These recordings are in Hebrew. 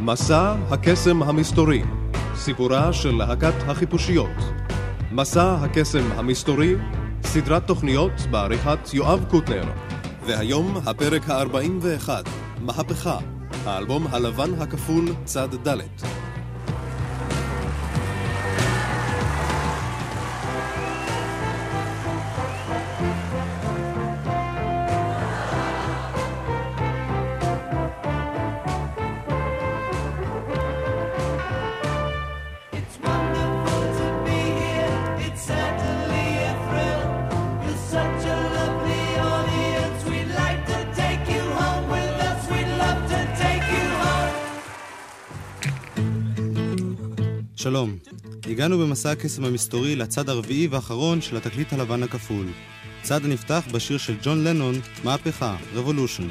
מסע הקסם המסתורי, סיפורה של להקת החיפושיות. מסע הקסם המסתורי, סדרת תוכניות בעריכת יואב קוטנר. והיום הפרק ה-41, מהפכה, האלבום הלבן הכפול צד ד'. שלום, הגענו במסע הקסם המסתורי לצד הרביעי והאחרון של התקליט הלבן הכפול. צד הנפתח בשיר של ג'ון לנון, מהפכה, Revolution.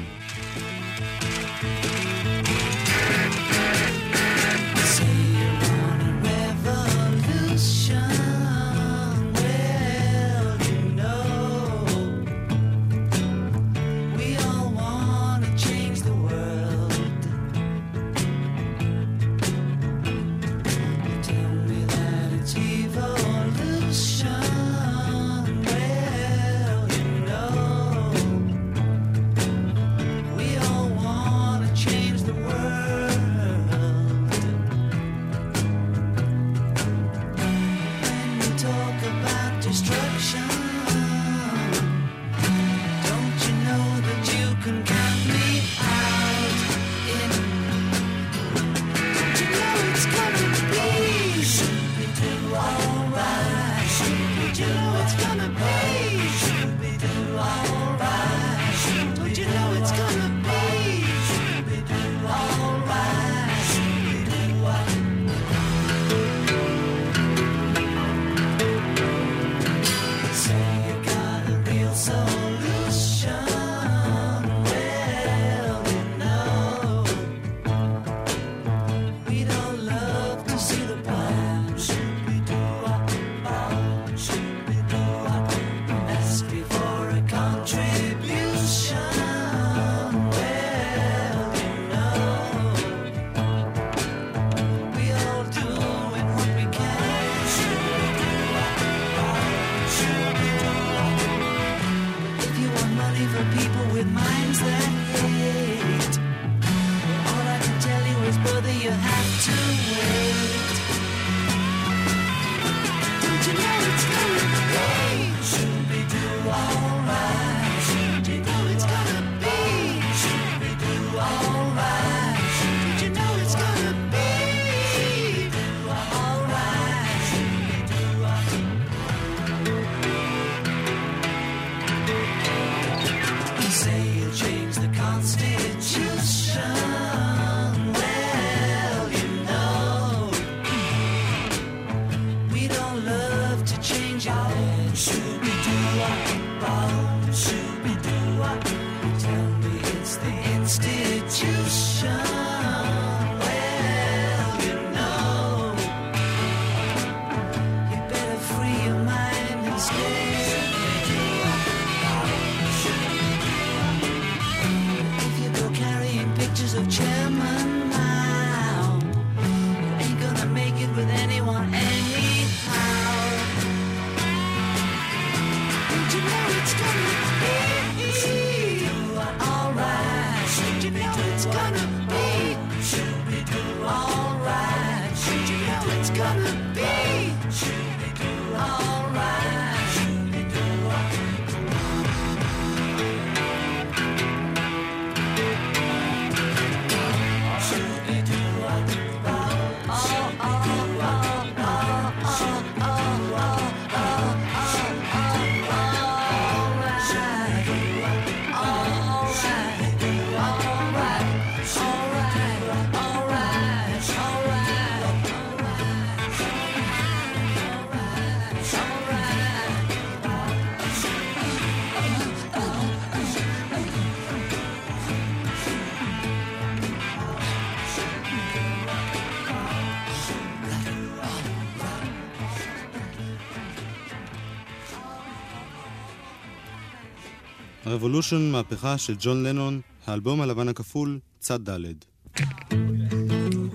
Revolution, מהפכה של ג'ון לנון, האלבום הלבן הכפול, צד ד'.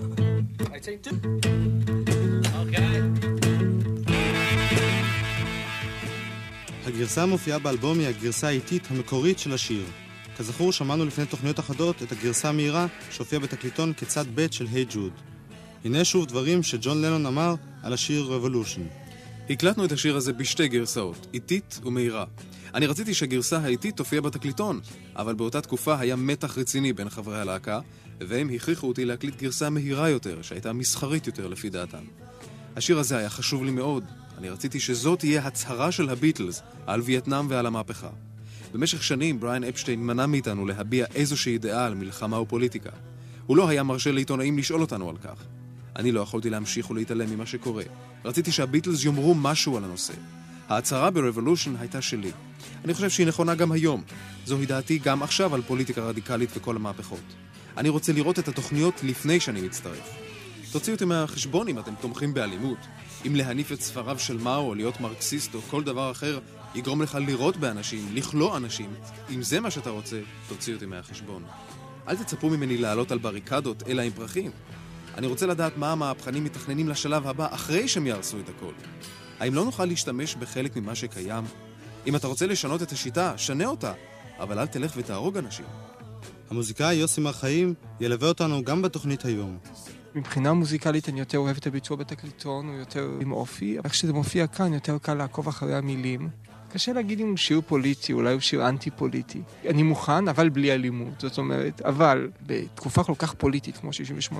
הגרסה המופיעה באלבום היא הגרסה האיטית המקורית של השיר. כזכור, שמענו לפני תוכניות אחדות את הגרסה המהירה שהופיעה בתקליטון כצד ב' של היי ג'וד. הנה שוב דברים שג'ון לנון אמר על השיר Revolution. הקלטנו את השיר הזה בשתי גרסאות, איטית ומהירה. אני רציתי שהגרסה האיטית תופיע בתקליטון, אבל באותה תקופה היה מתח רציני בין חברי הלהקה, והם הכריחו אותי להקליט גרסה מהירה יותר, שהייתה מסחרית יותר לפי דעתם. השיר הזה היה חשוב לי מאוד. אני רציתי שזאת תהיה הצהרה של הביטלס על וייטנאם ועל המהפכה. במשך שנים בריאן אפשטיין מנע מאיתנו להביע איזושהי דעה על מלחמה ופוליטיקה. הוא לא היה מרשה לעיתונאים לשאול אותנו על כך. אני לא יכולתי להמשיך ולהתעלם ממה שקורה. רציתי שהביטלס יאמרו משהו על הנושא. ההצהרה ב-Revolution הייתה שלי. אני חושב שהיא נכונה גם היום. זוהי דעתי גם עכשיו על פוליטיקה רדיקלית וכל המהפכות. אני רוצה לראות את התוכניות לפני שאני מצטרף. תוציאו אותי מהחשבון אם אתם תומכים באלימות. אם להניף את ספריו של מאו או להיות מרקסיסט או כל דבר אחר יגרום לך לירות באנשים, לכלוא אנשים. אם זה מה שאתה רוצה, תוציאו אותי מהחשבון. אל תצפו ממני לעלות על בריקדות אלא עם פרחים. אני רוצה לדעת מה המהפכנים מתכננים לשלב הבא אחרי שהם יהרסו את הכל. האם לא נוכל להשתמש בחלק ממה שקיים? אם אתה רוצה לשנות את השיטה, שנה אותה, אבל אל תלך ותהרוג אנשים. המוזיקאי יוסי מרחיים ילווה אותנו גם בתוכנית היום. מבחינה מוזיקלית אני יותר אוהב את הביצוע בתקליטון, הוא יותר עם אופי, אבל כשזה מופיע כאן יותר קל לעקוב אחרי המילים. קשה להגיד אם הוא שיר פוליטי, אולי הוא שיר אנטי-פוליטי. אני מוכן, אבל בלי אלימות. זאת אומרת, אבל בתקופה כל כך פוליטית כמו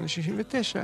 68-69,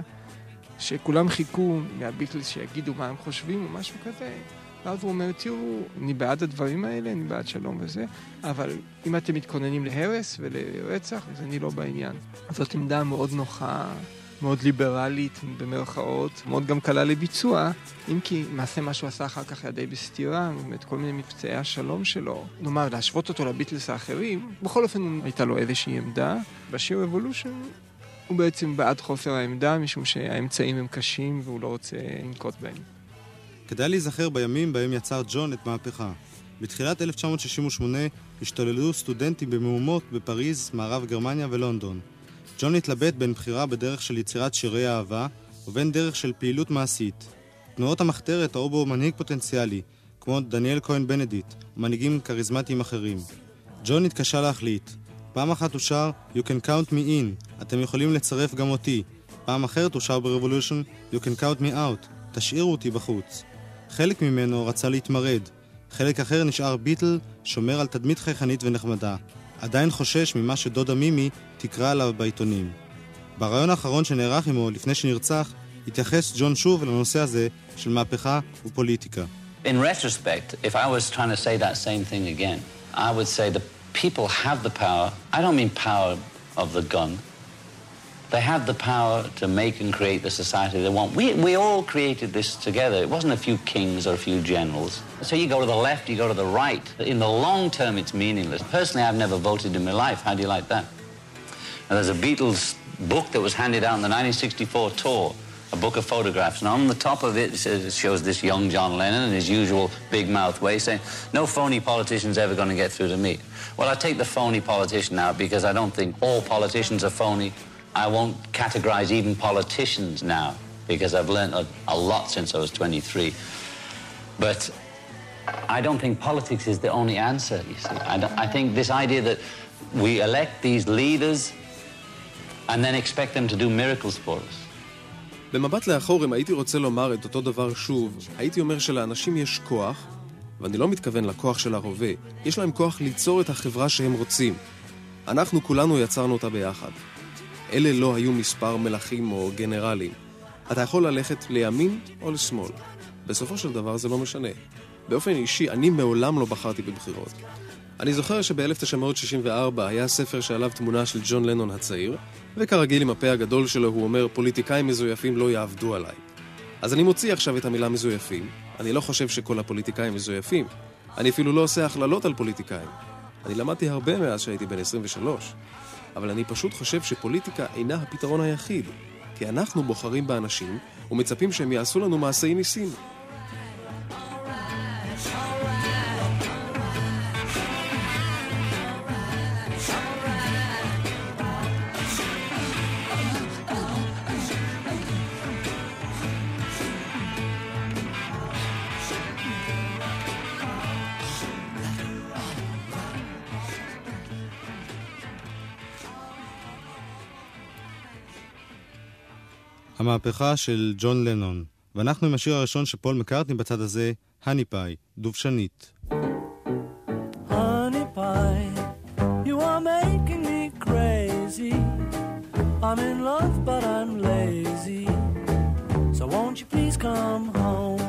שכולם חיכו מהביטלס שיגידו מה הם חושבים או משהו כזה, ואז הוא אומר, תראו, אני בעד הדברים האלה, אני בעד שלום וזה, אבל אם אתם מתכוננים להרס ולרצח, אז אני לא בעניין. אז זאת עמדה מאוד נוחה, מאוד ליברלית במרכאות, מאוד גם קלה לביצוע, אם כי מעשה מה שהוא עשה אחר כך היה די בסתירה, באמת כל מיני מבצעי השלום שלו. נאמר, להשוות אותו לביטלס האחרים, בכל אופן הייתה לו איזושהי עמדה. בשיר Revolution הוא בעצם בעד חוסר העמדה, משום שהאמצעים הם קשים והוא לא רוצה לנקוט בהם. כדאי להיזכר בימים בהם יצר ג'ון את מהפכה. בתחילת 1968 השתוללו סטודנטים במהומות בפריז, מערב גרמניה ולונדון. ג'ון התלבט בין בחירה בדרך של יצירת שירי אהבה ובין דרך של פעילות מעשית. תנועות המחתרת ראו בו מנהיג פוטנציאלי, כמו דניאל כהן בנדיט, ומנהיגים קריזמטיים אחרים. ג'ון התקשה להחליט. פעם אחת הוא שר You can count me in, אתם יכולים לצרף גם אותי. פעם אחרת הוא שר ב-Revolution You can count me out, תשאירו אותי בחוץ. חלק ממנו רצה להתמרד, חלק אחר נשאר ביטל, שומר על תדמית חייכנית ונחמדה. עדיין חושש ממה שדודה מימי תקרא עליו בעיתונים. ברעיון האחרון שנערך עמו לפני שנרצח, התייחס ג'ון שוב לנושא הזה של מהפכה ופוליטיקה. In retrospect, if I was trying to say that same thing again, I would say the people have the power. I don't mean power of the gun. They have the power to make and create the society they want. We all created this together. It wasn't a few kings or a few generals. So you go to the left, you go to the right. In the long term, it's meaningless. Personally, I've never voted in my life. How do you like that? Now, there's a Beatles book that was handed out on the 1964 tour, a book of photographs. And on the top of it, it shows this young John Lennon in his usual big mouth way saying, no phony politician's ever going to get through to me. Well, I take the phony politician out because I don't think all politicians are phony. I won't categorize even politicians now because I've learned a lot since I was 23. But I don't think politics is the only answer, you see. I think this idea that we elect these leaders and then expect them to do miracles for us. במבט לאחור, אם הייתי רוצה לומר את אותו דבר שוב, הייתי אומר שלאנשים יש כוח, ואני לא מתכוון לכוח של הרובה, יש להם כוח ליצור את החברה שהם רוצים. אנחנו כולנו יצרנו אותה ביחד. אלה לא היו מספר מלכים או גנרלים. אתה יכול ללכת לימין או לשמאל. בסופו של דבר זה לא משנה. באופן אישי, אני מעולם לא בחרתי בבחירות. אני זוכר שב-1964 היה ספר שעליו תמונה של ג'ון לנון הצעיר, וכרגיל עם הפה הגדול שלו הוא אומר, פוליטיקאים מזויפים לא יעבדו עליי. אז אני מוציא עכשיו את המילה מזויפים. אני לא חושב שכל הפוליטיקאים מזויפים. אני אפילו לא עושה הכללות על פוליטיקאים. אני למדתי הרבה מאז שהייתי בן 23. אבל אני פשוט חושב שפוליטיקה אינה הפתרון היחיד, כי אנחנו בוחרים באנשים ומצפים שהם יעשו לנו מעשי ניסים. המהפכה של ג'ון לנון. ואנחנו עם השיר הראשון שפול מקרטני בצד הזה, הני פאי, דובשנית. Honey pie, you are making me crazy. I'm in love but I'm lazy. So won't you please come home?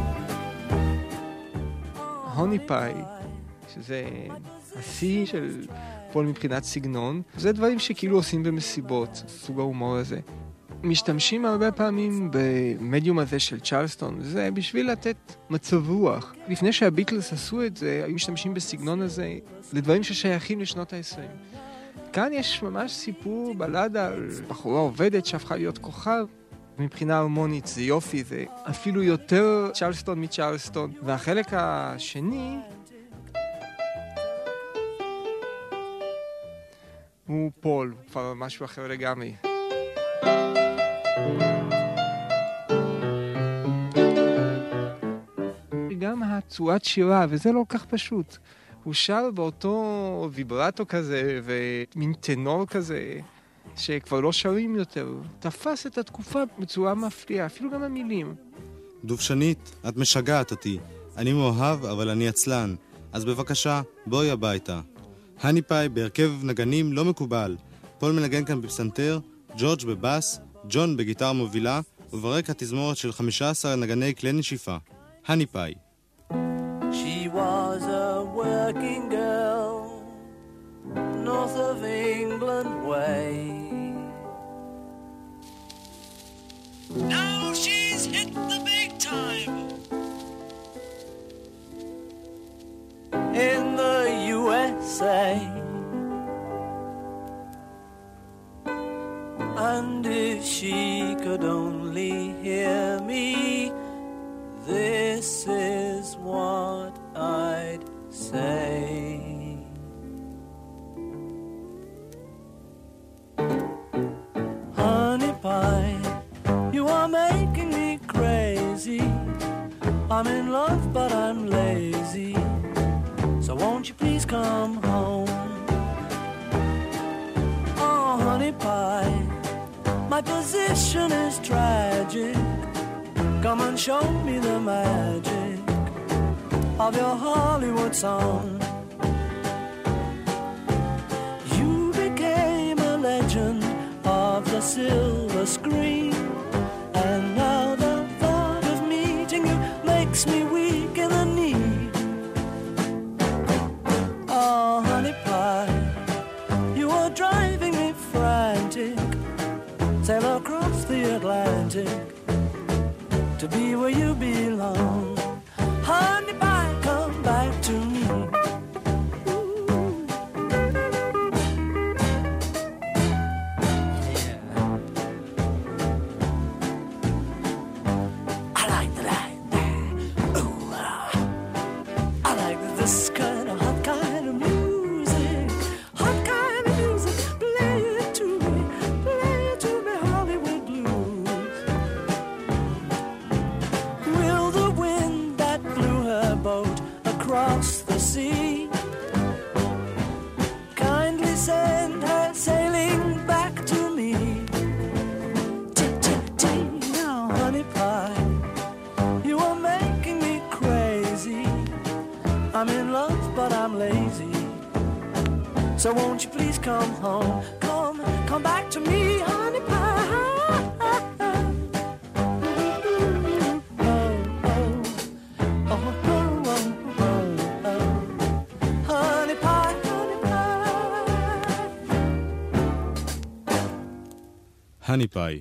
הוני פאי, שזה השיא של פול מבחינת סגנון, זה דברים שכאילו עושים במסיבות, סוג ההומור הזה. משתמשים הרבה פעמים במדיום הזה של צ'רלסטון, זה בשביל לתת מצב רוח. לפני שהביטלס עשו את זה, היו משתמשים בסגנון הזה לדברים ששייכים לשנות ה-20. כאן יש ממש סיפור בלדה על בחורה עובדת שהפכה להיות כוכב. מבחינה הרמונית זה יופי, זה אפילו יותר צ'רלסטון מצ'רלסטון. והחלק השני הוא פול, כבר משהו אחר לגמרי. גם הצורת שירה, וזה לא כך פשוט. הוא שר באותו ויברטו כזה ומין טנור כזה שכבר לא שרים יותר. תפס את התקופה בצורה מפתיעה, אפילו גם המילים. דובשנית, את משגעת אותי. אני מאוהב, אבל אני עצלן. אז בבקשה, בואי הביתה. הני פאי בהרכב נגנים לא מקובל. פול מנגן כאן בפסנתר, ג'ורג' בבאס, ג'ון בגיטרה מובילה, וברקע תזמורת של 15 נגני כלי נשיפה. הני פאי. She was a working girl, north of England way. Now she's hit the big time in the USA. And if she could only hear me, this is what I'd say. Honey pie, you are making me crazy. I'm in love but I'm lazy. So won't you please come home? Oh, honey pie, my position is tragic. Come and show me the magic of your Hollywood song. You became a legend of the silver screen, and now the thought of meeting you makes me weak in the knee. Oh, honey pie, you are driving me frantic. Sail across the Atlantic to be where you belong. Honey pie, come back to me. I like that. Ooh, I like this kind of hot kind of music. Hot kind of music. Play it to me, Hollywood blues. Will the wind that blew her boat across the sea kindly send her sailing back to me? Tick-tick-tick, now honey pie, you are making me crazy. I'm in love but I'm lazy. So won't you please come home? Come back to me, honey pie. Honey pie, honey pie. הני פאי.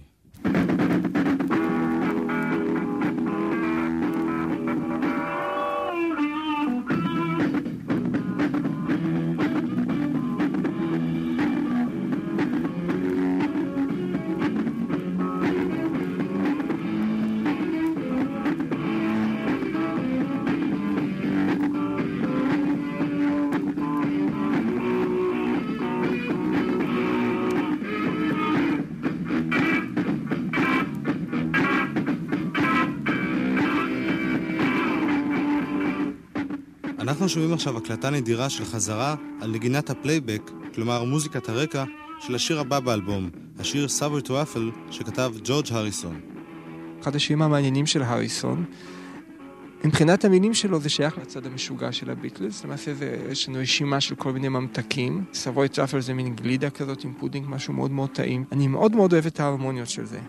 אנחנו שומעים עכשיו הקלטה נדירה של חזרה על נגינת הפלייבק, כלומר מוזיקת הרקע של השיר הבא באלבום, השיר Subway to Waffle שכתב ג'ורג' הריסון. אחד השירים המעניינים של הריסון, מבחינת המילים שלו זה שייך לצד המשוגע של הביטלס, למעשה יש לנו רשימה של כל מיני ממתקים, Savoy to Waffle זה מין גלידה כזאת עם פודינג, משהו מאוד מאוד טעים. אני מאוד מאוד אוהב את ההרמוניות של זה.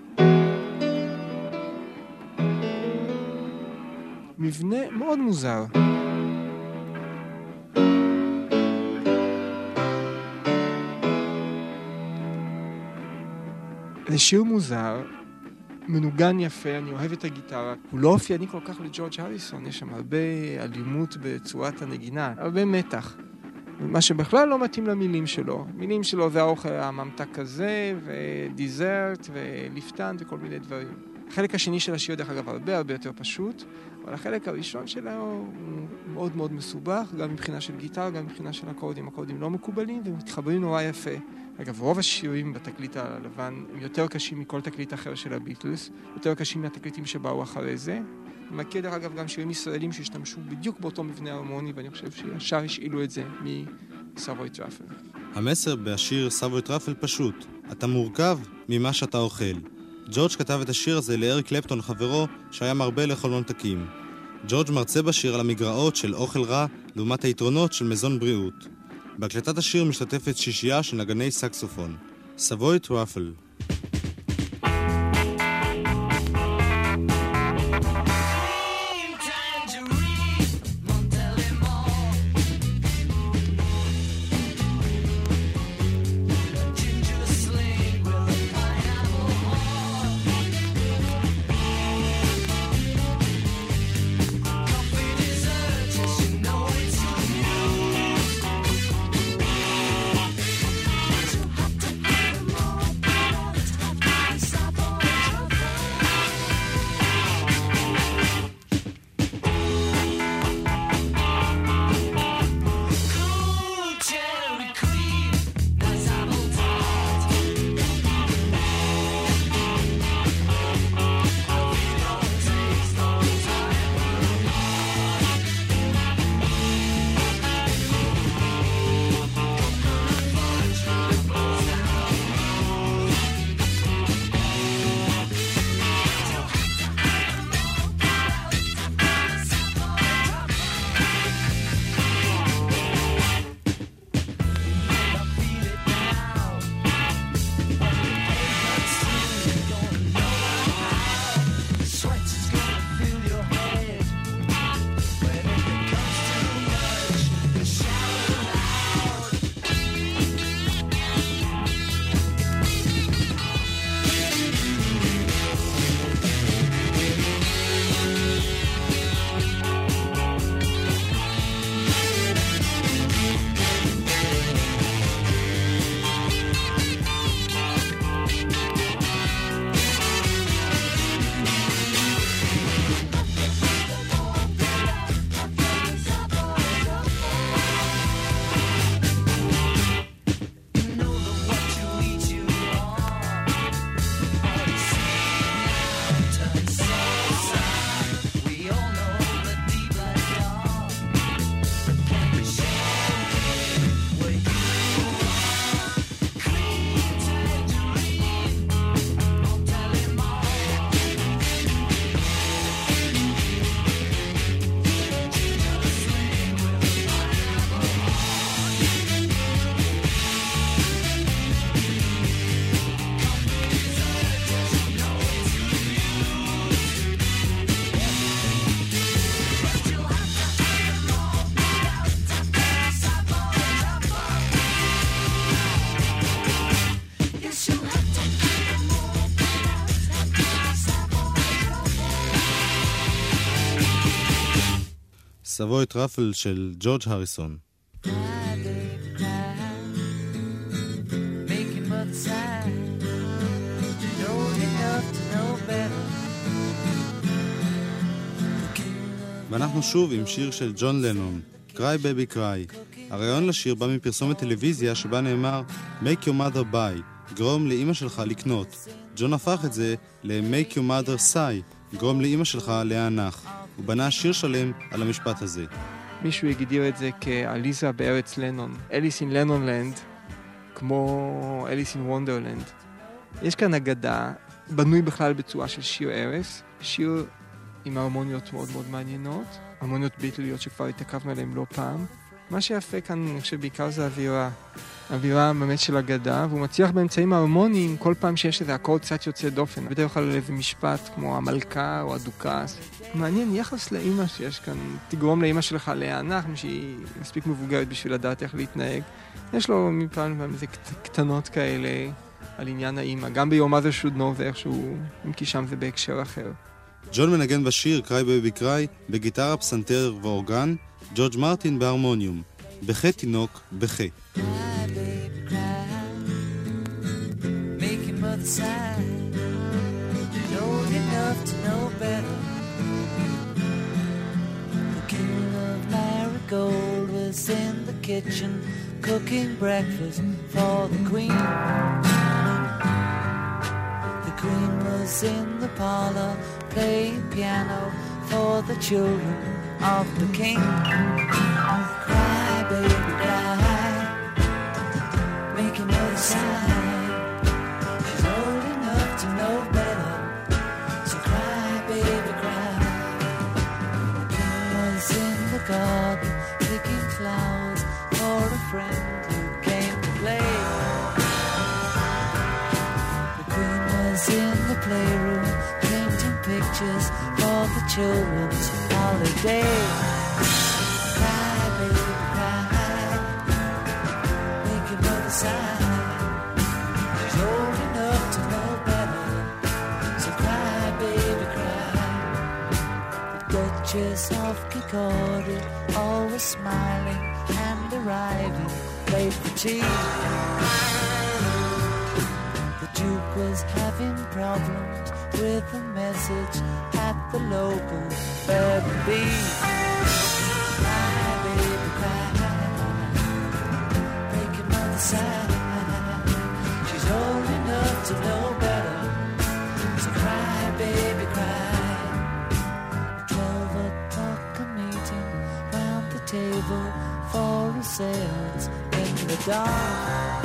מבנה מאוד מוזר. זה שיר מוזר, מנוגן יפה, אני אוהב את הגיטרה. הוא לא אופייני כל כך לג'ורג' הריסון, יש שם הרבה אלימות בצורת הנגינה, הרבה מתח. מה שבכלל לא מתאים למילים שלו. מילים שלו זה האוכל הממתק הזה, ודיזרט, וליפטן, וכל מיני דברים. החלק השני של השיר, דרך אגב, הרבה יותר פשוט, אבל החלק הראשון שלו הוא מאוד מאוד מסובך, גם מבחינה של גיטרה, גם מבחינה של אקורדים. אקורדים לא מקובלים ומתחברים נורא יפה. אגב, רוב השירים בתקליט הלבן הם יותר קשים מכל תקליט אחר של הביטלס, יותר קשים מהתקליטים שבאו אחרי זה. אני מכיר דרך אגב גם שירים ישראלים שהשתמשו בדיוק באותו מבנה הרמוני, ואני חושב שישר השאילו את זה מ-Savoy to Waffle. המסר בשיר Savoy to Waffle פשוט, אתה מורכב ממה שאתה אוכל. ג'ורג' כתב את השיר הזה לאריק קלפטון חברו שהיה מרבה לאכול ממתקים. ג'ורג' מרצה בשיר על המגרעות של אוכל רע לעומת היתרונות של מזון בריאות. בהקלטת השיר משתתפת שישייה של נגני סקסופון. Savoy to Waffle. Savoy to Waffle של ג'ורג' הריסון. ואנחנו שוב עם שיר של ג'ון לנון, Cry Baby Cry. הרעיון לשיר בא מפרסומת טלוויזיה שבה נאמר Make your mother buy, גרום לאמא שלך לקנות. ג'ון הפך את זה ל-Make your mother sigh, גרום לאמא שלך להנח. הוא בנה שיר שלם על המשפט הזה. מישהו הגדיר את זה כאליזה בארץ לנון, אליס אין לנונלנד, כמו אליס אין וונדרלנד. יש כאן אגדה, בנוי בכלל בצורה של שיר ערש, שיר עם הרמוניות מאוד מאוד מעניינות, הרמוניות ביטליות שכבר התעכבנו עליהן לא פעם. מה שיפה כאן, אני חושב, בעיקר זה האווירה באמת של אגדה, והוא מצליח באמצעים ההרמוניים כל פעם שיש איזה אקורד קצת יוצא דופן, בדרך כלל איזה משפט כמו המלכה או הדוקס. מעניין, יחס לאמא שיש כאן, תגרום לאמא שלך להיאנח, שהיא מספיק מבוגרת בשביל לדעת איך להתנהג. יש לו מפעם איזה קטנות כאלה על עניין האמא, גם ביום הזה שודנו ואיכשהו, אם כי שם זה בהקשר אחר. ג'ון מנגן בשיר קריי בייבי קריי בגיטרה, פסנתר ואורגן, ג'ורג' מרטין בהרמוניום. בכה תינוק, בכה. Gold was in the kitchen cooking breakfast for the queen. The queen was in the parlor playing piano for the children of the king. Cry, baby, cry, making no sign. She's old enough to know better, so cry, baby, cry. The king was in the garden picking flowers for a friend who came to play. The queen was in the playroom painting pictures for the children's holiday. Cry, baby, cry, make your mother sigh. She's old enough to know better, so cry, baby, cry. The Duchess of Kikordi, always smiling and arriving late for tea. The Duke was having problems with a message at the local B&B. Cry, baby, cry, make your mother sigh. She's old enough to know better, so cry, baby, cry. 12 o'clock a meeting round the table for a seance in the dark.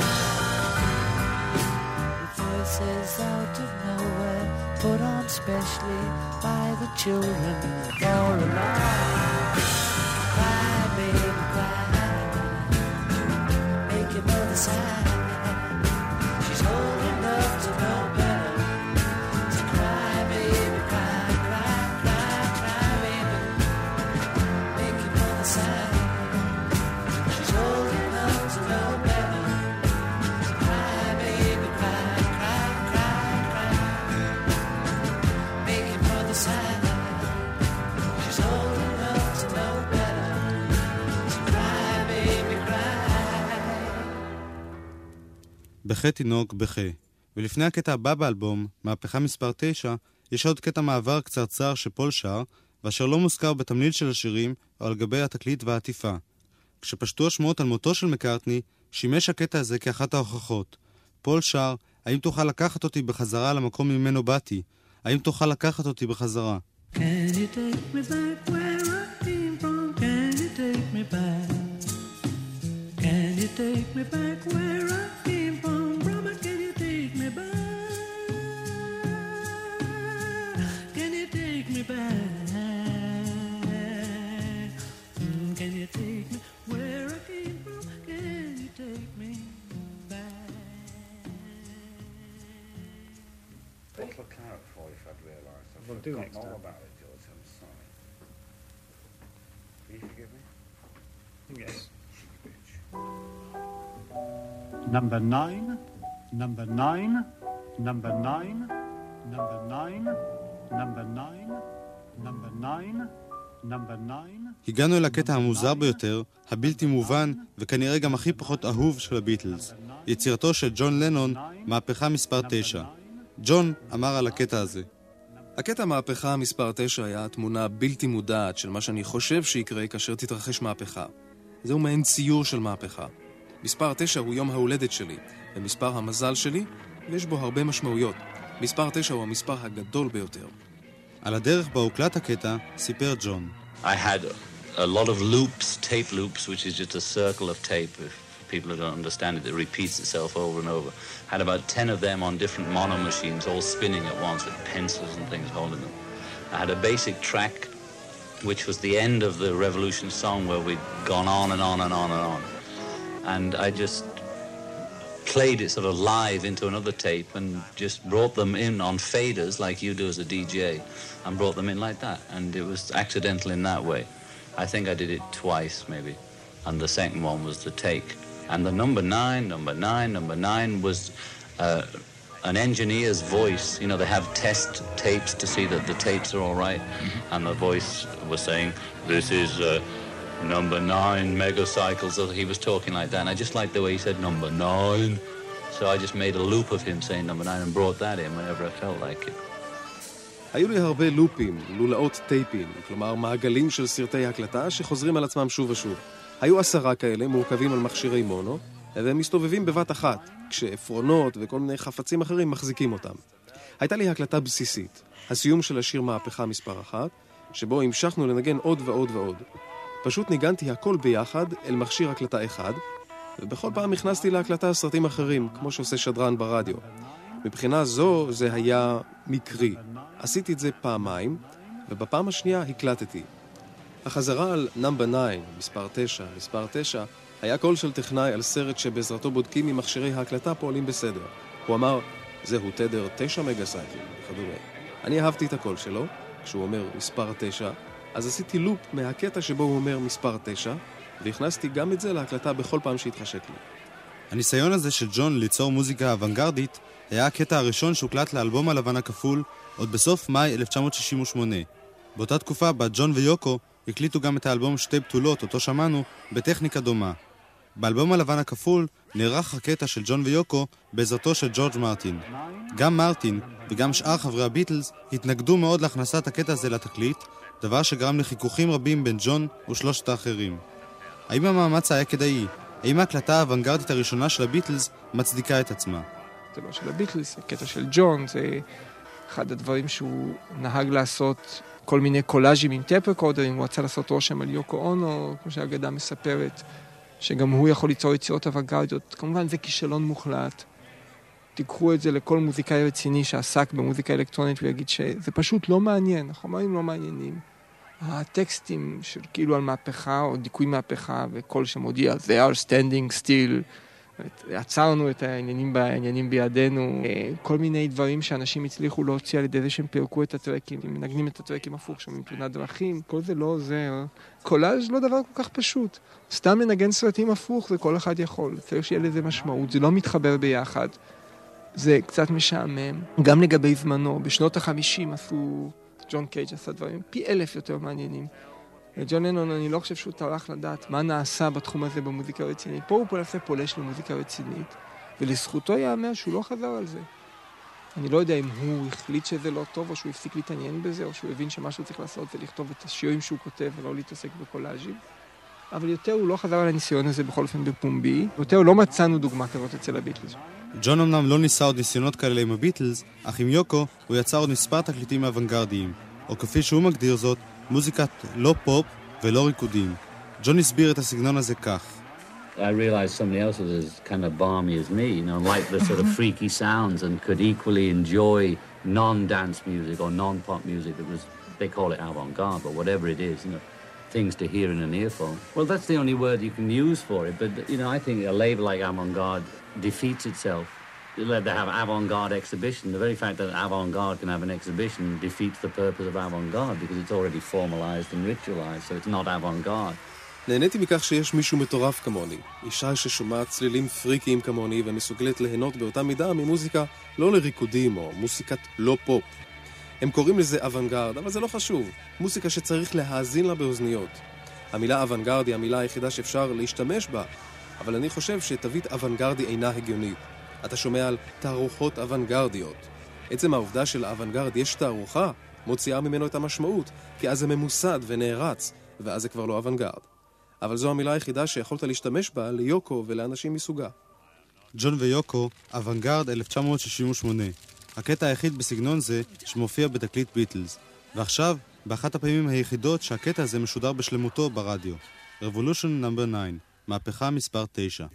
Voices out of nowhere, put on specially by the children for a laugh. Cry, baby, cry, make your mother sigh. She's old enough to know better, so cry, baby, cry, cry, cry, cry, baby, make your mother sigh. She's old enough to know better, so cry, baby, cry, cry, cry, cry, make your mother sigh. She's old enough to know better, so cry, baby, cry. בכה תינוק, בכה. ולפני הקטע הבא באלבום, מהפכה מספר 9, יש עוד קטע מעבר קצרצר שפול שר, ואשר לא מוזכר בתמליל של השירים או על גבי התקליט והעטיפה. כשפשטו השמועות על מותו של מקארטני, שימש הקטע הזה כאחת ההוכחות. פול שר, האם תוכל לקחת אותי בחזרה למקום ממנו באתי? האם תוכל לקחת אותי בחזרה? Can you take me back where I came from? Can you take me back? Can you take me back where I came from? Brother, can you take me back? Can you take me back? Can you take me where I came from? Can you take me back? Bottle of claret for you if I'd realised. I've Well, do forgotten next all time. about it, George. I'm sorry. Will you forgive me? Yes. Cheeky bitch. Number 9, number 9, number 9, number 9, number 9, number 9, number 9. הגענו אל הקטע המוזר ביותר, הבלתי מובן, וכנראה גם הכי פחות אהוב של הביטלס. יצירתו של ג'ון לנון, מהפכה מספר 9. ג'ון אמר על הקטע הזה. הקטע מהפכה מספר 9 היה תמונה בלתי מודעת של מה שאני חושב שיקרה כאשר תתרחש מהפכה. זהו מעין ציור של מהפכה. מספר 9 הוא יום ההולדת שלי, ומספר המזל שלי, ויש בו הרבה משמעויות. מספר 9 הוא המספר הגדול ביותר. על הדרך בה הוקלט הקטע, סיפר ג'ון. I had a lot of loops, tape loops, which is just a circle of tape people who don't understand it, that repeats itself over and over. Had about 10 of them on different mono machines, all spinning at once with pencils and things holding them. I had a basic track, which was the end of the Revolution song where we'd gone on and on and on and on. And I just played it sort of live into another tape and just brought them in on faders like you do as a DJ and brought them in like that. And it was accidental in that way. I think I did it twice maybe. And the second one was the take. And the number nine was an engineer's voice. You know, they have test tapes to see that the tapes are all right. Mm-hmm. And the voice was saying, this is number 9 megacycles. He was talking like that. And I just liked the way he said number 9. So I just made a loop of him saying number 9 and brought that in whenever I felt like it. היו לי הרבה לופים, לולאות טייפים, כלומר מעגלים של סרטי הקלטה שחוזרים על עצמם שוב ושוב. היו 10 כאלה מורכבים על מכשירי מונו, והם מסתובבים בבת אחת, כשעפרונות וכל מיני חפצים אחרים מחזיקים אותם. הייתה לי הקלטה בסיסית, הסיום של השיר מהפכה מספר 1, שבו המשכנו לנגן עוד ועוד ועוד. פשוט ניגנתי הכל ביחד אל מכשיר הקלטה אחד, ובכל פעם הכנסתי להקלטה סרטים אחרים, כמו שעושה שדרן ברדיו. מבחינה זו זה היה מקרי. עשיתי את זה פעמיים, ובפעם השנייה הקלטתי. החזרה על נאמבר 9, מספר 9, היה קול של טכנאי על סרט שבעזרתו בודקים אם מכשירי ההקלטה פועלים בסדר. הוא אמר, זהו תדר 9 מגה-סייקלים, וכדומה. אני אהבתי את הקול שלו, כשהוא אומר מספר 9, אז עשיתי לופ מהקטע שבו הוא אומר מספר 9, והכנסתי גם את זה להקלטה בכל פעם שהתחשק לי. הניסיון הזה של ג'ון ליצור מוזיקה אוונגרדית היה הקטע הראשון שהוקלט לאלבום הלבן הכפול עוד בסוף מאי 1968. באותה תקופה בה ג'ון ויוקו הקליטו גם את האלבום שתי בתולות, אותו שמענו, בטכניקה דומה. באלבום הלבן הכפול נערך הקטע של ג'ון ויוקו בעזרתו של ג'ורג' מרטין. גם מרטין וגם שאר חברי הביטלס התנגדו מאוד להכנסת הקטע הזה לתקליט, דבר שגרם לחיכוכים רבים בין ג'ון ושלושת האחרים. האם המאמץ היה כדאי? האם ההקלטה האוונגרדית הראשונה של הביטלס מצדיקה את עצמה? זה לא של הביטלס, הקטע של ג'ון, זה אחד הדברים שהוא נהג לעשות כל מיני קולאז'ים עם טייפ רקורדרים, הוא רצה לעשות רושם על יוקו אונו, כמו שהאגדה מספרת, שגם הוא יכול ליצור יצירות אוונגרדיות. כמובן זה כישלון מוחלט. תיקחו את זה לכל מוזיקאי רציני שעסק במוזיקה אלקטרונית ויגיד שזה פשוט לא מעניין, החומרים לא מעניינים. הטקסטים של כאילו על מהפכה או דיכוי מהפכה וכל שמודיע, they are standing still, עצרנו את העניינים בידינו, כל מיני דברים שאנשים הצליחו להוציא על ידי זה שהם פירקו את הטרקים, מנגנים את הטרקים הפוך, שומעים תאונת דרכים, כל זה לא עוזר. קולאז' לא דבר כל כך פשוט. סתם לנגן סרטים הפוך זה כל אחד יכול, צריך שיהיה לזה משמעות, זה לא מתחבר ביחד. זה קצת משעמם. גם לגבי זמנו, בשנות ה-50 עשו, ג'ון קייג' עשה דברים פי 1000 יותר מעניינים. ג'ון לנון, אני לא חושב שהוא טרח לדעת מה נעשה בתחום הזה במוזיקה רצינית. פה הוא פולש למוזיקה רצינית, ולזכותו יאמר שהוא לא חזר על זה. אני לא יודע אם הוא החליט שזה לא טוב, או שהוא הפסיק להתעניין בזה, או שהוא הבין שמה שהוא צריך לעשות זה לכתוב את השירים שהוא כותב, ולא להתעסק בקולאז'ים. אבל יותר הוא לא חזר על הניסיון הזה בכל אופן בפומבי, יותר לא מצאנו דוגמה כזאת אצל הביטלס. ג'ון אמנם לא ניסה עוד ניסיונות כאלה עם הביטלס, אך עם יוקו הוא יצר עוד מספר תקליטים אוונגרדיים, או כפי שהוא מגדיר זאת, מוזיקת לא פופ ולא ריקודים. ג'ון הסביר את הסגנון הזה כך. I realized somebody else was as kind of balmy as me, you know, liked the sort of freaky sounds and could equally enjoy non-dance music or non-pop music that was, they call it avant-garde, but whatever it is, you know, things to hear in an earphone. Well, that's the only word you can use for it, but, you know, I think a label like avant-garde defeats itself. They have avant-garde exhibition. The very fact that avant-garde can have an exhibition defeats the purpose of avant-garde because it's already formalized and ritualized, so it's not avant-garde. נהניתי מכך שיש מישהו מטורף כמוני, אישה ששומעת צלילים פריקיים כמוני ומסוגלת ליהנות באותה מידה ממוזיקה לא לריקודים או מוזיקת לא פופ. הם קוראים לזה אוונגרד, אבל זה לא חשוב, מוזיקה שצריך להאזין לה באוזניות. המילה אוונגרד היא המילה היחידה שאפשר להשתמש בה, אבל אני חושב שתווית אוונגרדי אינה הגיונית. אתה שומע על תערוכות אוונגרדיות. עצם העובדה של האוונגרד יש תערוכה, מוציאה ממנו את המשמעות, כי אז זה ממוסד ונערץ, ואז זה כבר לא אוונגרד. אבל זו המילה היחידה שיכולת להשתמש בה ליוקו ולאנשים מסוגה. ג'ון ויוקו, אוונגרד 1968. הקטע היחיד בסגנון זה שמופיע בתקליט ביטלס. ועכשיו, באחת הפעמים היחידות שהקטע הזה משודר בשלמותו ברדיו. Revolution No. 9. מהפכה מספר 9.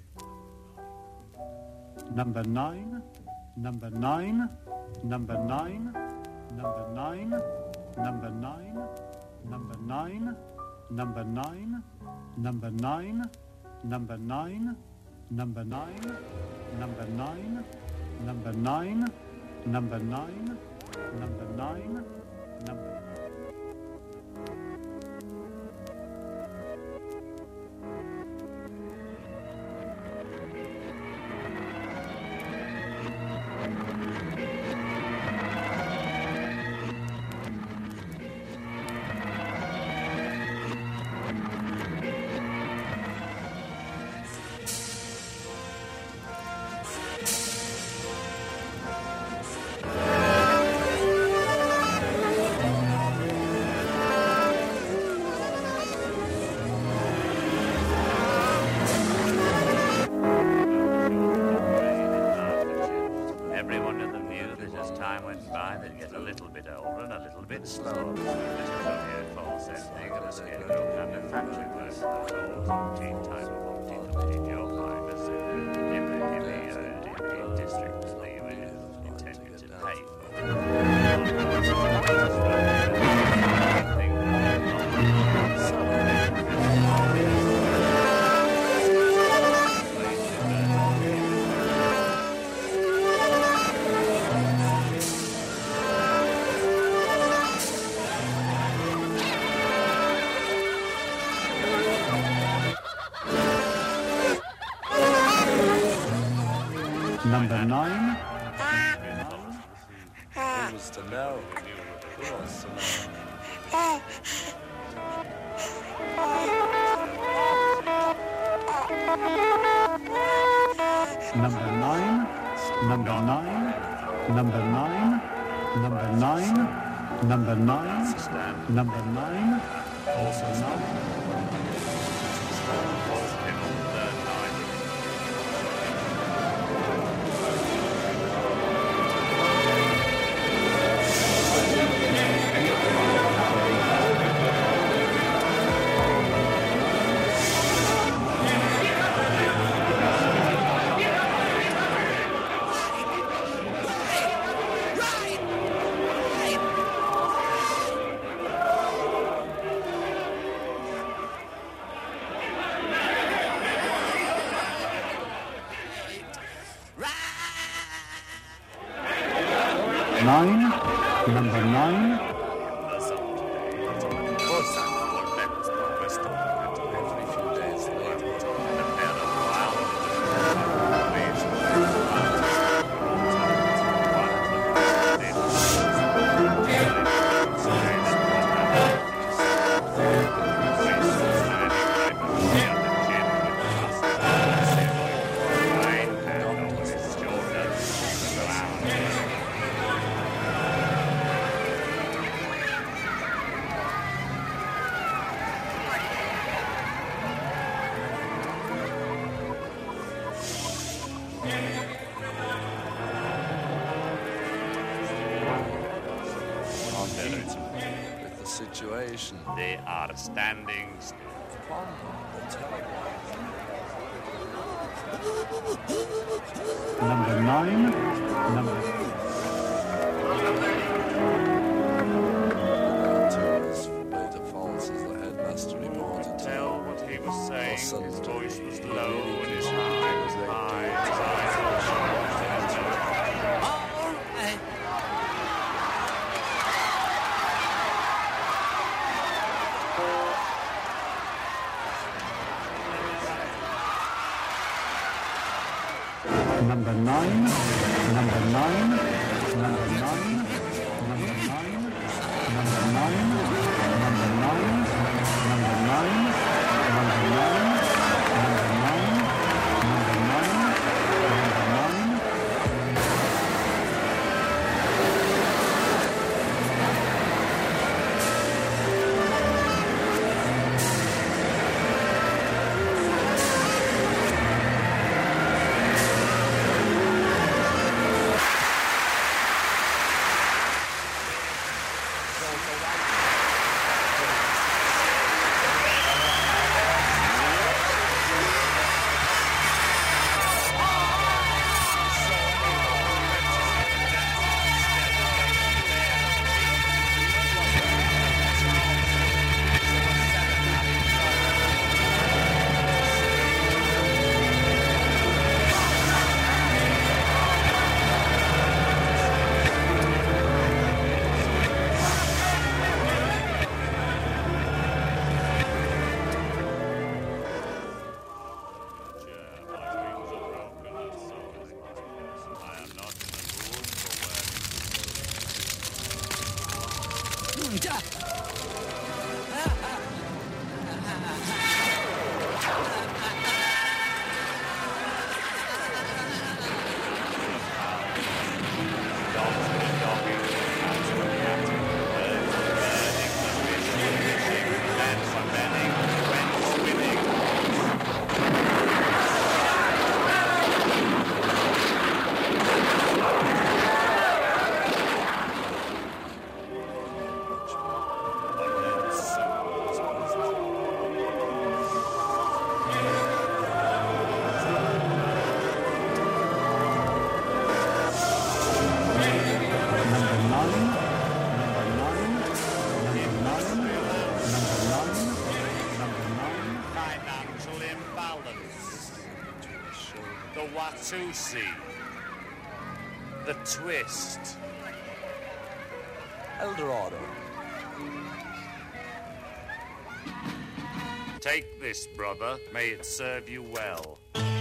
Number 9, number 9, number 9, number 9, number 9, number 9, number 9, number 9, number 9, number 9, number 9, number 9, number 9, number 9, number. Number 9. Who wants to know? Who wants to know? Number 9. Number 9. Number 9. Number 9. Number 9. Number 9. Also 9. Number 9. They are standing. Number 9. Tell what he was saying. His voice was low and his eye was high. His eyes were Number 9, number 9, number 9, number 9, number 9, number 9, number 9, number 9, number 9, number 9, number 9. Watusi, the twist, Eldorado. Take this, brother. May it serve you well.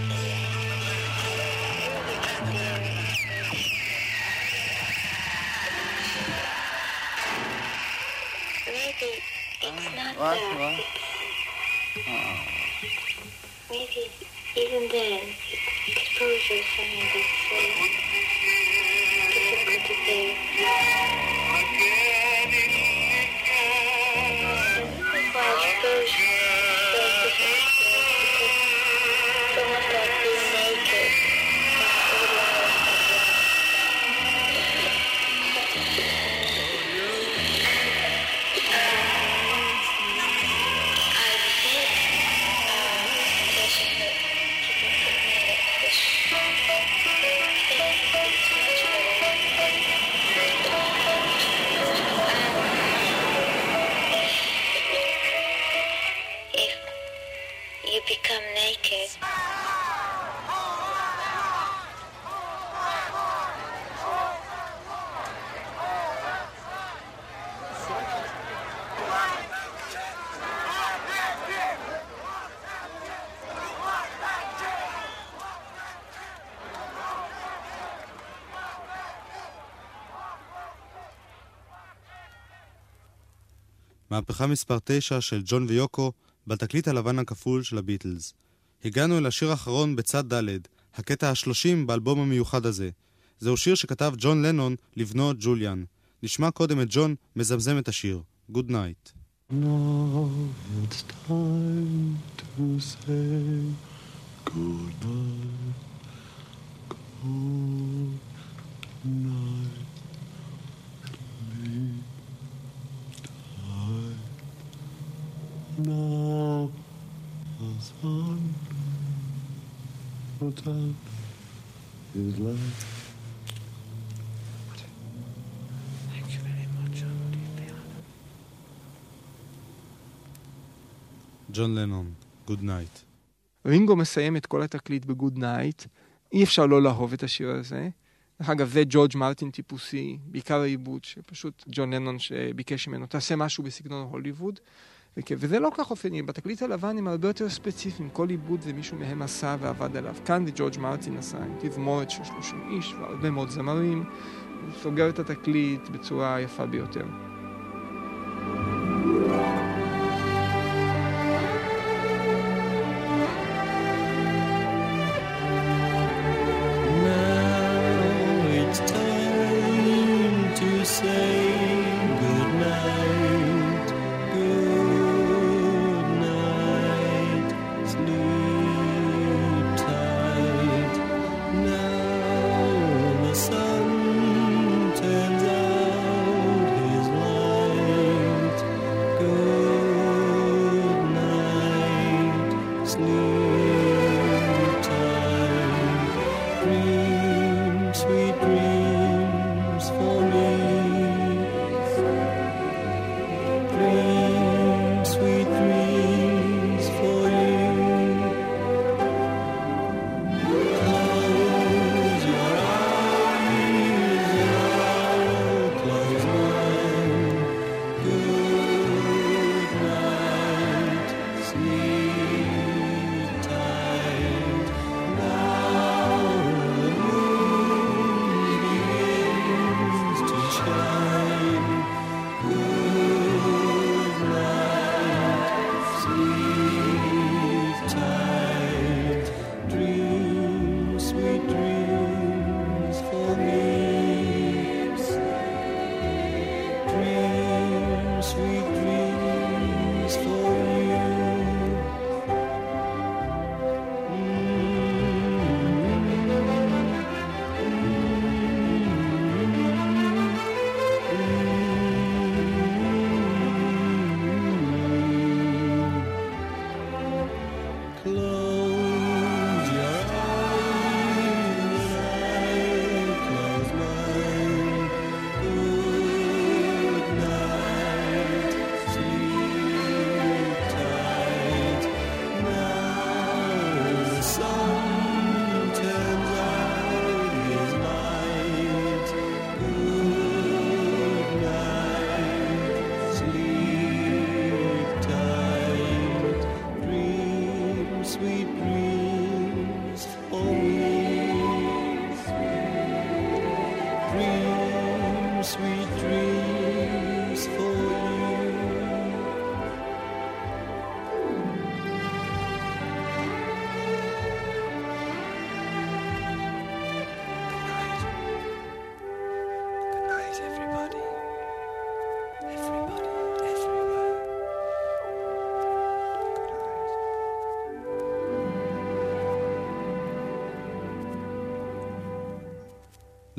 Maybe it's not that. Maybe even then, exposure is something that's difficult to bear. And this is why exposure is so difficult to bear, because it's almost like being naked. Become naked. מהפכה מספר 9 של ג'ון ויוקו בתקליט הלבן הכפול של הביטלס. הגענו אל השיר האחרון בצד ד', הקטע ה-30 באלבום המיוחד הזה. זהו שיר שכתב ג'ון לנון לבנו ג'וליאן. נשמע קודם את ג'ון מזמזם את השיר. Good night. Now it's time to say good night. Good night. Sleep tight. Now the sun puts out his light. Thank you very much, ג'ון לנון, Good night. רינגו מסיים את כל התקליט בגוד נייט. אי אפשר לא לאהוב את השיר הזה. דרך אגב, זה ג'ורג' מרטין טיפוסי, בעיקר העיבוד, שפשוט ג'ון לנון שביקש ממנו, תעשה משהו בסגנון הוליווד. וזה לא כך אופני, בתקליט הלבן הם הרבה יותר ספציפיים, כל עיבוד זה מישהו מהם עשה ועבד עליו. כאן זה ג'ורג' מרטין עשה, עם תזמורת של 30 איש והרבה מאוד זמרים, הוא סוגר את התקליט בצורה יפה ביותר. Good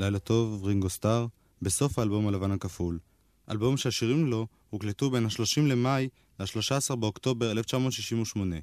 לילה טוב, רינגו סטאר, בסוף האלבום הלבן הכפול. אלבום שהשירים לו הוקלטו בין ה-30 למאי ל-13 באוקטובר 1968.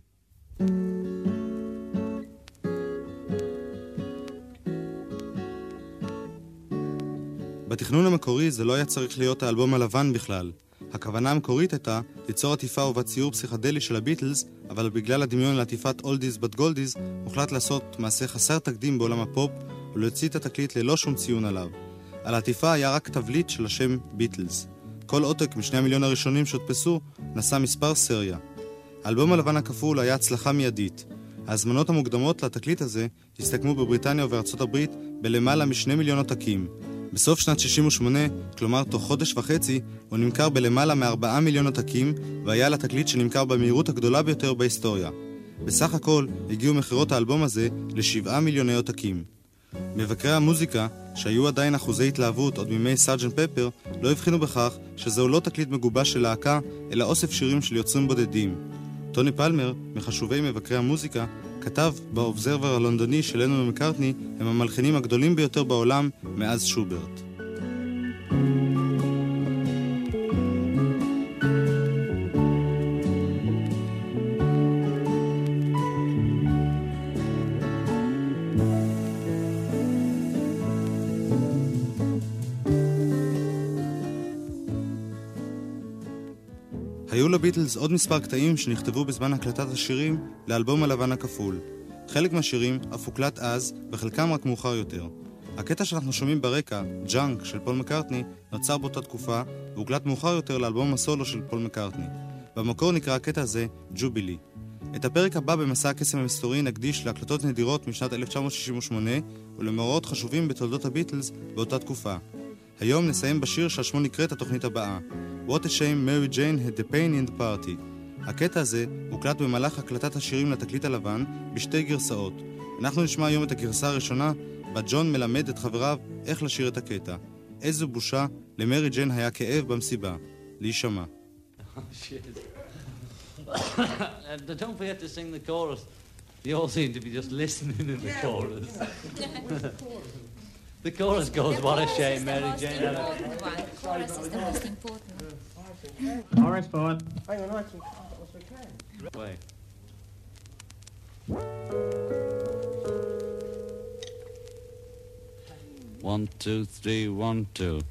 בתכנון המקורי זה לא היה צריך להיות האלבום הלבן בכלל. הכוונה המקורית הייתה ליצור עטיפה ובת ציור פסיכדלי של הביטלס, אבל בגלל הדמיון לעטיפת אולדיז בת גולדיז, הוחלט לעשות מעשה חסר תקדים בעולם הפופ, ולהוציא את התקליט ללא שום ציון עליו. על העטיפה היה רק תבליט של השם ביטלס. כל עותק מ2 מיליון הראשונים שהודפסו נשא מספר סריה. האלבום הלבן הכפול היה הצלחה מיידית. ההזמנות המוקדמות לתקליט הזה הסתכמו בבריטניה ובארצות הברית בלמעלה מ2 מיליון עותקים. בסוף שנת 68, כלומר תוך חודש וחצי, הוא נמכר בלמעלה מ4 מיליון עותקים, והיה לתקליט שנמכר במהירות הגדולה ביותר בהיסטוריה. בסך הכל הגיעו מחירות האלבום הזה ל7 מיליוני עותקים. מבקרי המוזיקה, שהיו עדיין אחוזי התלהבות עוד מימי סארג'נט פפר, לא הבחינו בכך שזהו לא תקליט מגובש של להקה, אלא אוסף שירים של יוצרים בודדים. טוני פלמר, מחשובי מבקרי המוזיקה, כתב באובזרבר הלונדוני של לנון ומקארטני, הם המלחינים הגדולים ביותר בעולם מאז שוברט. היו לביטלס עוד מספר קטעים שנכתבו בזמן הקלטת השירים לאלבום הלבן הכפול. חלק מהשירים אף הוקלט אז, וחלקם רק מאוחר יותר. הקטע שאנחנו שומעים ברקע, ג'אנק של פול מקארטני, נוצר באותה תקופה, והוקלט מאוחר יותר לאלבום הסולו של פול מקארטני. במקור נקרא הקטע הזה ג'ובילי. את הפרק הבא במסע הקסם המסתורי נקדיש להקלטות נדירות משנת 1968, ולמאורעות חשובים בתולדות הביטלס באותה תקופה. היום נסיים בשיר שעשמו נקראת התוכנית הבאה. What a shame Mary Jane had the pain in the party. הקטע הזה הוקלט במהלך הקלטת השירים לתקליט הלבן בשתי גרסאות. אנחנו נשמע היום את הגרסה הראשונה, בה ג'ון מלמד את חבריו איך לשיר את הקטע. איזו בושה, למרי ג'יין היה כאב במסיבה. להישמע. Don't forget to sing the chorus. You all seem to be just listening in the chorus. The chorus goes, what a shame, Mary Jane. The chorus is the most important. Chorus forward. Hang on, I can as we can. Wait. One, two, three, 1, 2.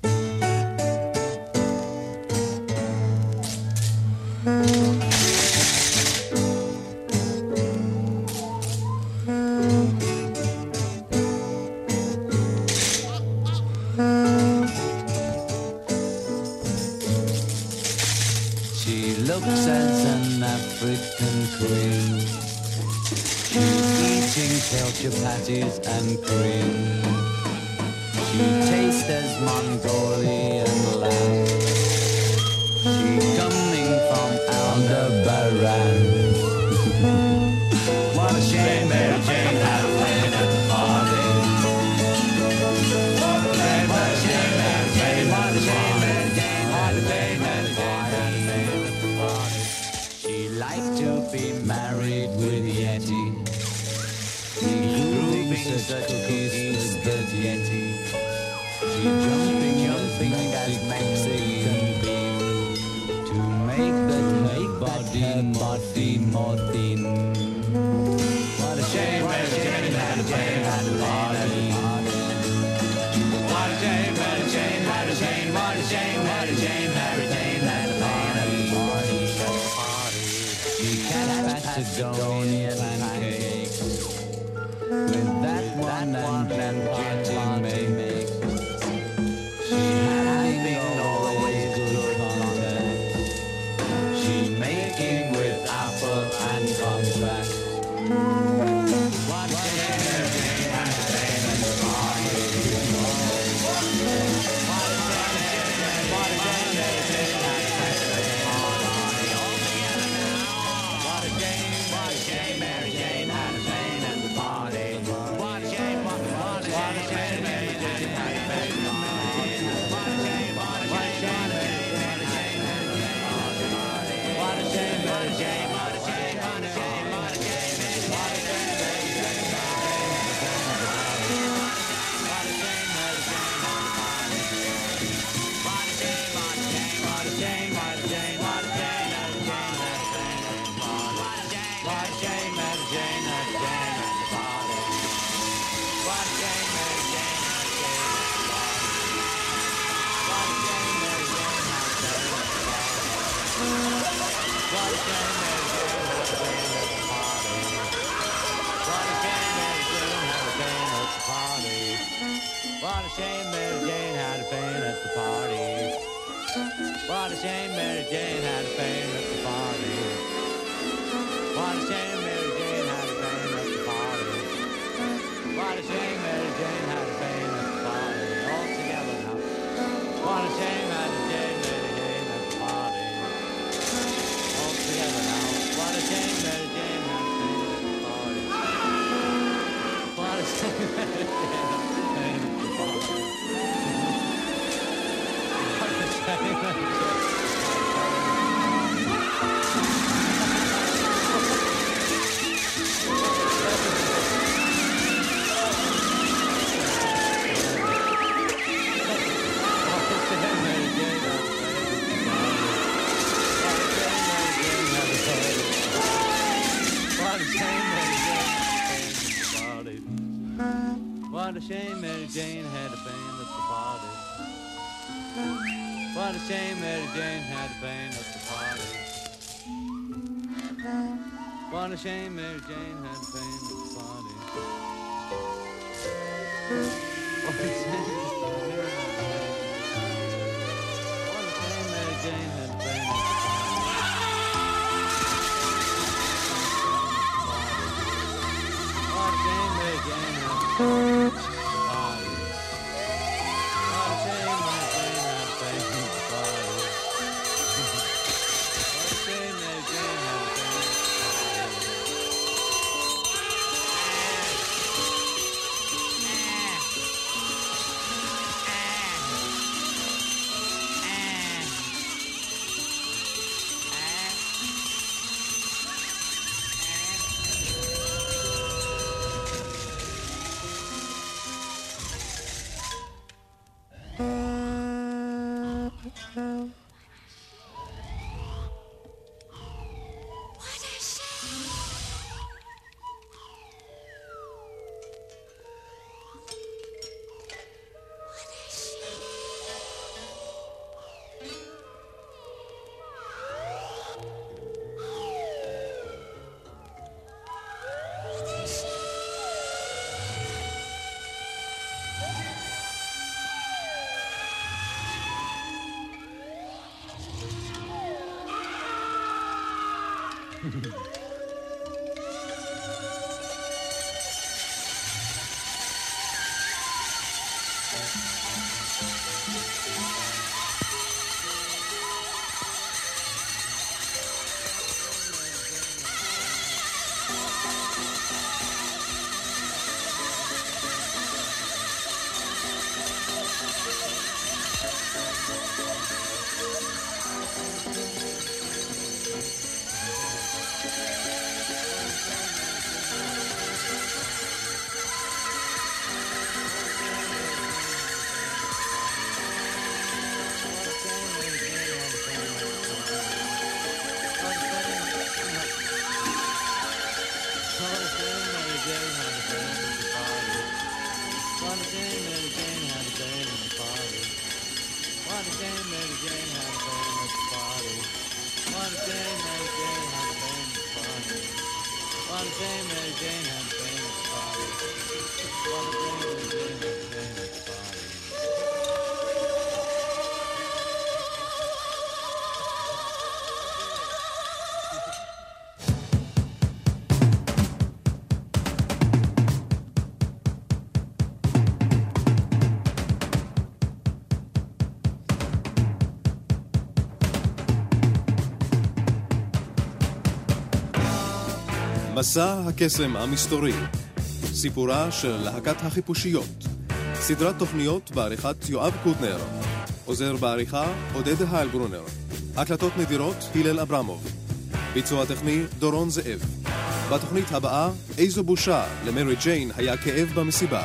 Patties and cream. She tastes as Mongolian lamb. She coming from Aldebaran. What a shame Mary Jane had a playing at the party. What a shame Mary Jane, what a shame Mary Jane had a playing at the party. She liked to be married with Yeti. Such cookies as the Yeti. She jumping as Mexican bean to make that body more thin. What a shame Mary Jane had a pain at the party. What a shame Mary Jane had a pain. What a shame Mary Jane had a pain at the party. She had Patagonian pancakes. With that one and Jetty makes. She having always good contact. She making with apple and contract. What a shame Mary Jane had a pain at the party. What a shame Mary Jane had a pain at the party. What a shame, what a What a shame Mary Jane had a pain at the party. What a shame Mary Jane had a pain at the party. What a shame Mary Jane had a pain at the party. What a shame Mary Jane had a pain at the party. All together now. What a shame had a Jane Mary Jane at the party. All together now. What a shame Mary Jane had a pain at the party. What a shame Mary Jane had a pain at the party. What a shame Mary Jane had a pain at the party. What a shame Mary Jane had a pain at the party. What a shame Mary Jane had a pain at the party. What a shame Mary Jane had a pain at the party. What a shame Mary Jane had a pain. מסע הקסם המסתורי, סיפורה של להקת החיפושיות, סדרת תוכניות בעריכת יואב קוטנר, עוזר בעריכה עודד היילברונר, הקלטות נדירות הלל אברמוב, ביצוע טכני דורון זאב. בתוכנית הבאה, איזו בושה, למרי ג'יין היה כאב במסיבה.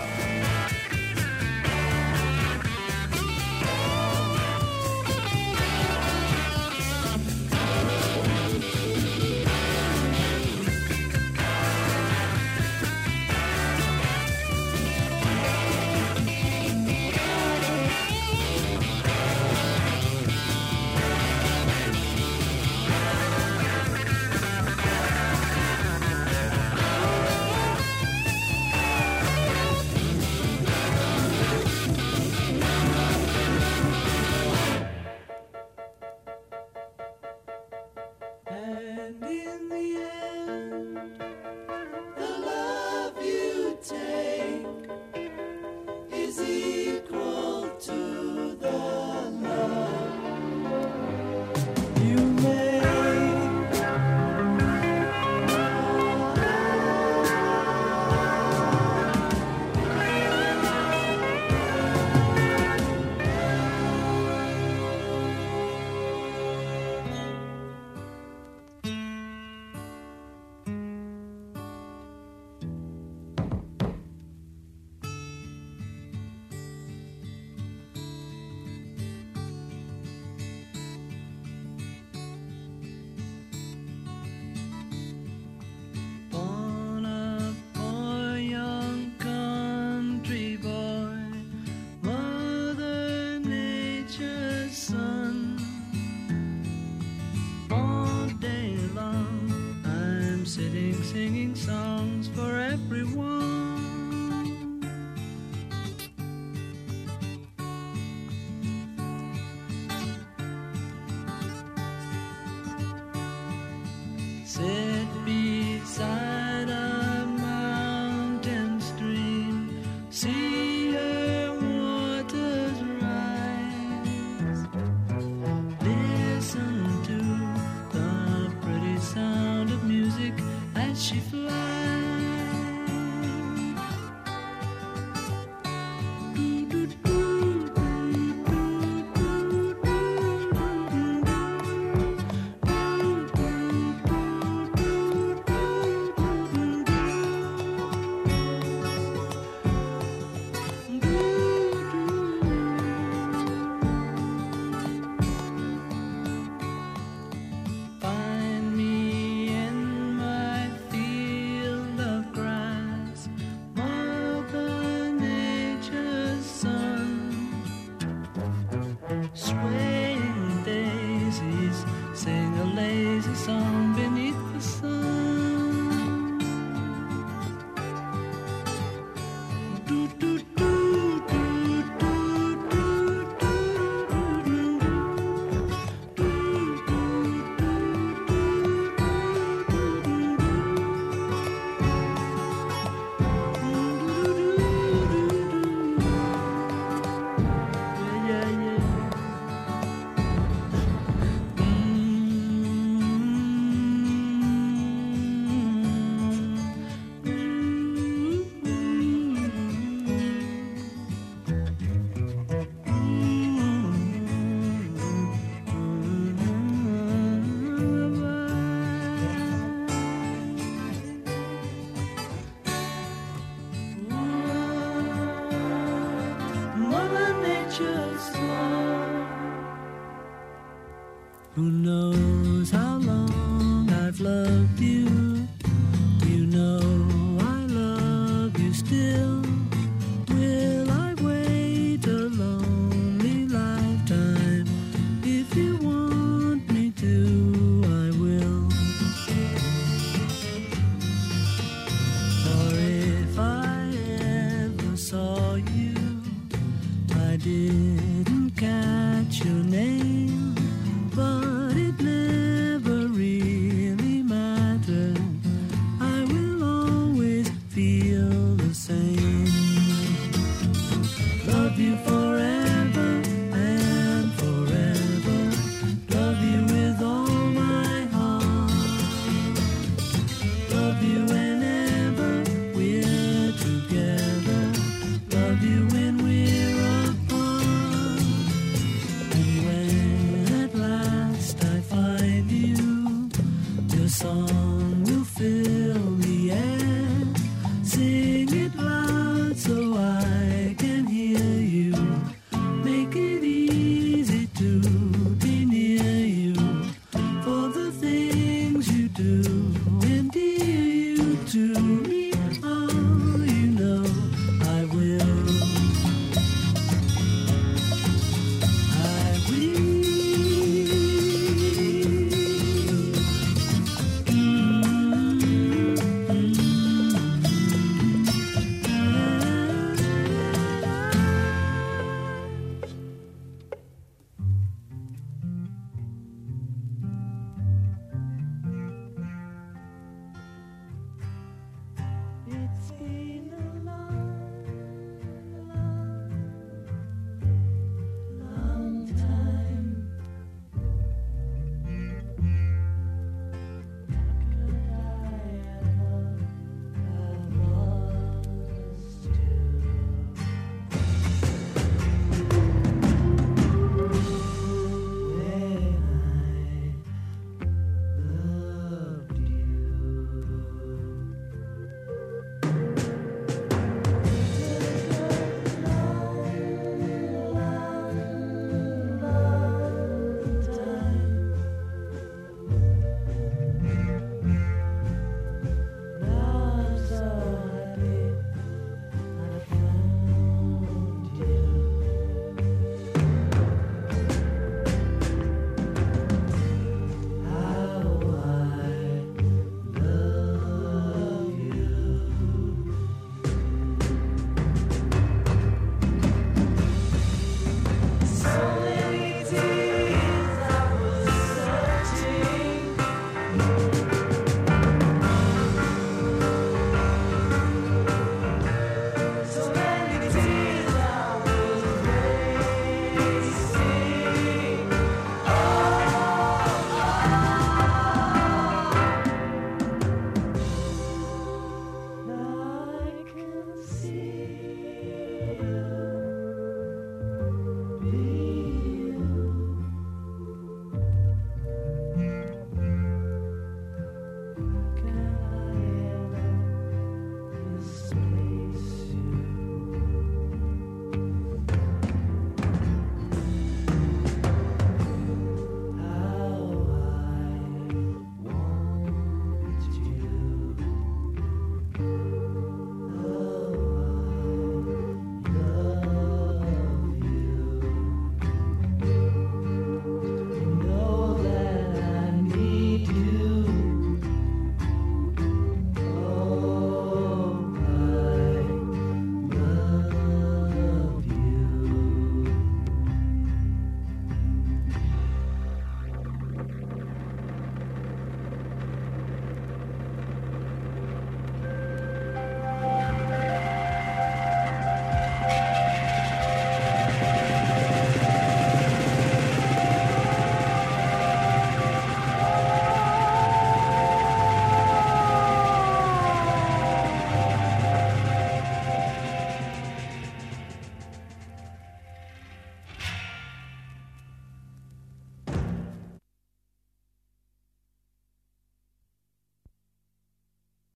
singing songs for everyone. Sit beside a mountain stream, see her waters rise. Listen to the pretty sound of music as she flies. Find me in my field of grass, Mother Nature's son, swaying daisies, sing a lazy song beneath the sun. Do do do do do do Mother Nature's song. Who knows how long